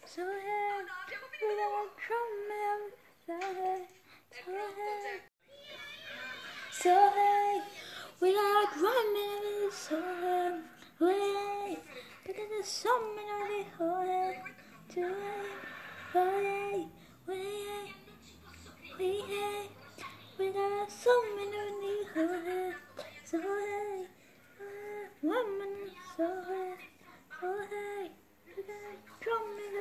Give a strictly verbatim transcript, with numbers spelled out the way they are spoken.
so hey, we got drum and so hey, so hey, so hey, we got drum and so hey, hey, because there's so many of the hey, so hey, so hey, hey, we hey, we got so many of the hey, so hey, woman, so hey, so hey, we got drum and